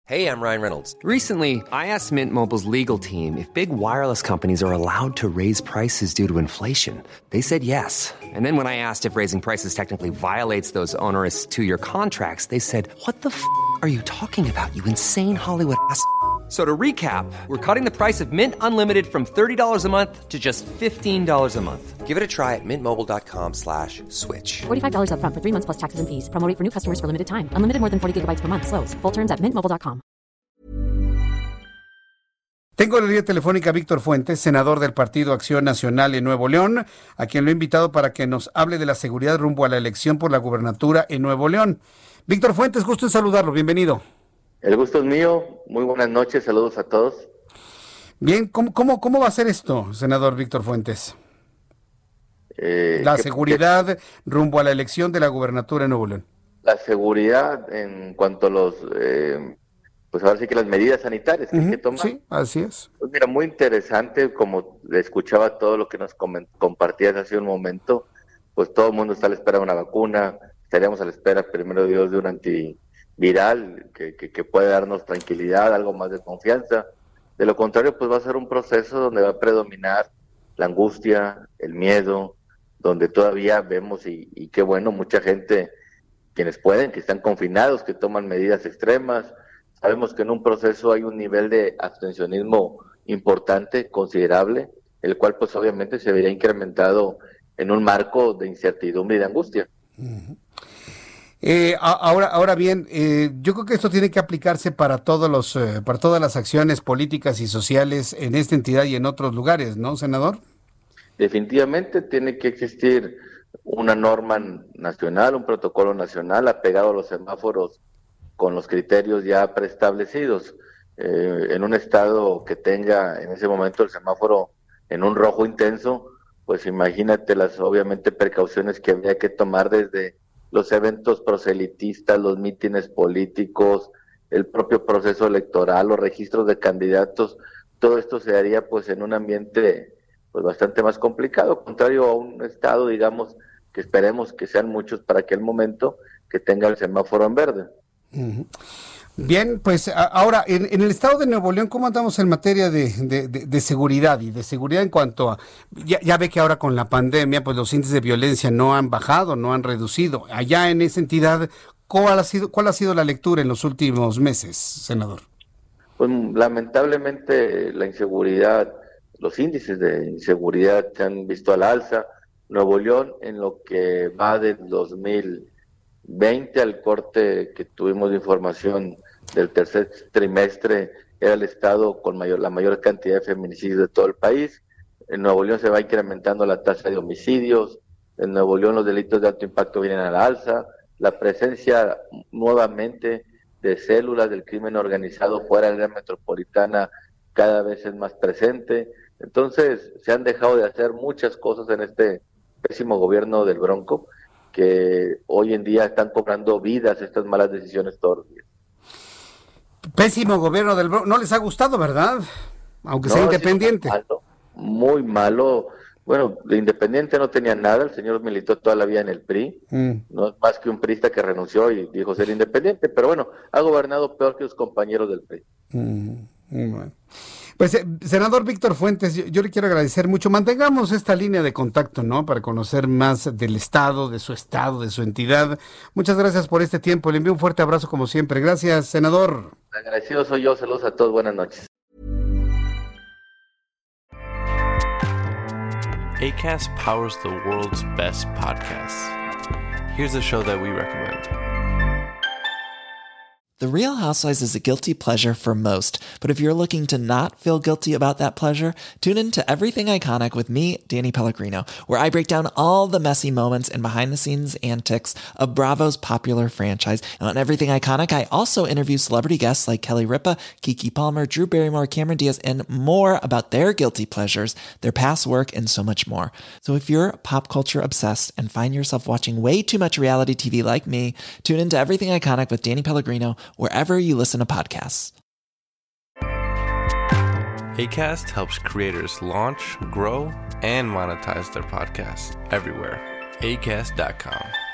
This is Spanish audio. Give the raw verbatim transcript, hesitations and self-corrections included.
Hey, I'm Ryan Reynolds. Recently, I asked Mint Mobile's legal team if big wireless companies are allowed to raise prices due to inflation. They said yes. And then when I asked if raising prices technically violates those onerous two-year contracts, they said, what the f*** are you talking about, you insane Hollywood ass f- So to recap, we're cutting the price of Mint Unlimited from thirty dollars a month to just fifteen dollars a month. Give it a try at mintmobile.com slash switch. forty-five dollars up front for three months plus taxes and fees. Promo rate for new customers for limited time. Unlimited more than forty gigabytes per month. Slows full terms at mint mobile dot com. Tengo en la línea telefónica a Víctor Fuentes, senador del Partido Acción Nacional en Nuevo León, a quien lo he invitado para que nos hable de la seguridad rumbo a la elección por la gubernatura en Nuevo León. Víctor Fuentes, gusto en saludarlo. Bienvenido. El gusto es mío. Muy buenas noches. Saludos a todos. Bien, ¿cómo, cómo, cómo va a ser esto, senador Víctor Fuentes? Eh, la seguridad que, rumbo a la elección de la gubernatura en Nuevo León. La seguridad en cuanto a los, eh, pues ahora sí que las medidas sanitarias que uh-huh, hay que tomar. Sí, así es. Pues mira, muy interesante, como escuchaba todo lo que nos compartías hace un momento, pues todo el mundo está a la espera de una vacuna, estaríamos a la espera, primero de Dios, de un anti viral que, que, que puede darnos tranquilidad, algo más de confianza. De lo contrario, pues va a ser un proceso donde va a predominar la angustia, el miedo, donde todavía vemos, y, y qué bueno, mucha gente, quienes pueden, que están confinados, que toman medidas extremas. Sabemos que en un proceso hay un nivel de abstencionismo importante, considerable, el cual pues obviamente se vería incrementado en un marco de incertidumbre y de angustia. Uh-huh. Eh, ahora, ahora bien, eh, yo creo que esto tiene que aplicarse para todos los, eh, para todas las acciones políticas y sociales en esta entidad y en otros lugares, ¿no, senador? Definitivamente tiene que existir una norma nacional, un protocolo nacional apegado a los semáforos con los criterios ya preestablecidos. Eh, en un estado que tenga en ese momento el semáforo en un rojo intenso, pues imagínate las obviamente precauciones que habría que tomar desde los eventos proselitistas, los mítines políticos, el propio proceso electoral, los registros de candidatos. Todo esto se haría pues en un ambiente pues bastante más complicado, contrario a un estado, digamos, que esperemos que sean muchos para aquel momento que tenga el semáforo en verde. Uh-huh. Bien, pues a, ahora, en, en el estado de Nuevo León, ¿cómo andamos en materia de, de, de, de seguridad? Y de seguridad en cuanto a, ya, ya ve que ahora con la pandemia, pues los índices de violencia no han bajado, no han reducido. Allá en esa entidad, ¿cuál ha sido, cuál ha sido la lectura en los últimos meses, senador? Pues lamentablemente la inseguridad, los índices de inseguridad se han visto a la alza. Nuevo León, en lo que va del dos mil veinte al corte que tuvimos de información del tercer trimestre, era el estado con mayor la mayor cantidad de feminicidios de todo el país. En Nuevo León se va incrementando la tasa de homicidios. En Nuevo León los delitos de alto impacto vienen a la alza. La presencia nuevamente de células del crimen organizado fuera de la metropolitana cada vez es más presente. Entonces se han dejado de hacer muchas cosas en este pésimo gobierno del Bronco, que hoy en día están cobrando vidas estas malas decisiones todos los días. Pésimo gobierno del Bronco, no les ha gustado, ¿verdad? Aunque no, sea independiente. Muy malo, muy malo. Bueno, de independiente no tenía nada, el señor militó toda la vida en el P R I, mm. no es más que un priista que renunció y dijo ser independiente, pero bueno, ha gobernado peor que sus compañeros del P R I. Mm, bueno. Pues, eh, senador Víctor Fuentes, yo, yo le quiero agradecer mucho. Mantengamos esta línea de contacto, ¿no? Para conocer más del estado, de su estado, de su entidad. Muchas gracias por este tiempo. Le envío un fuerte abrazo como siempre. Gracias, senador. Agradecido soy yo. Saludos a todos. Buenas noches. Acast powers the world's best podcasts. Here's a show that we recommend. The Real Housewives is a guilty pleasure for most, but if you're looking to not feel guilty about that pleasure, tune in to Everything Iconic with me, Danny Pellegrino, where I break down all the messy moments and behind-the-scenes antics of Bravo's popular franchise. And on Everything Iconic, I also interview celebrity guests like Kelly Ripa, Keke Palmer, Drew Barrymore, Cameron Diaz, and more about their guilty pleasures, their past work, and so much more. So if you're pop culture obsessed and find yourself watching way too much reality T V like me, tune into Everything Iconic with Danny Pellegrino, wherever you listen to podcasts. Acast helps creators launch, grow, and monetize their podcasts everywhere. acast dot com.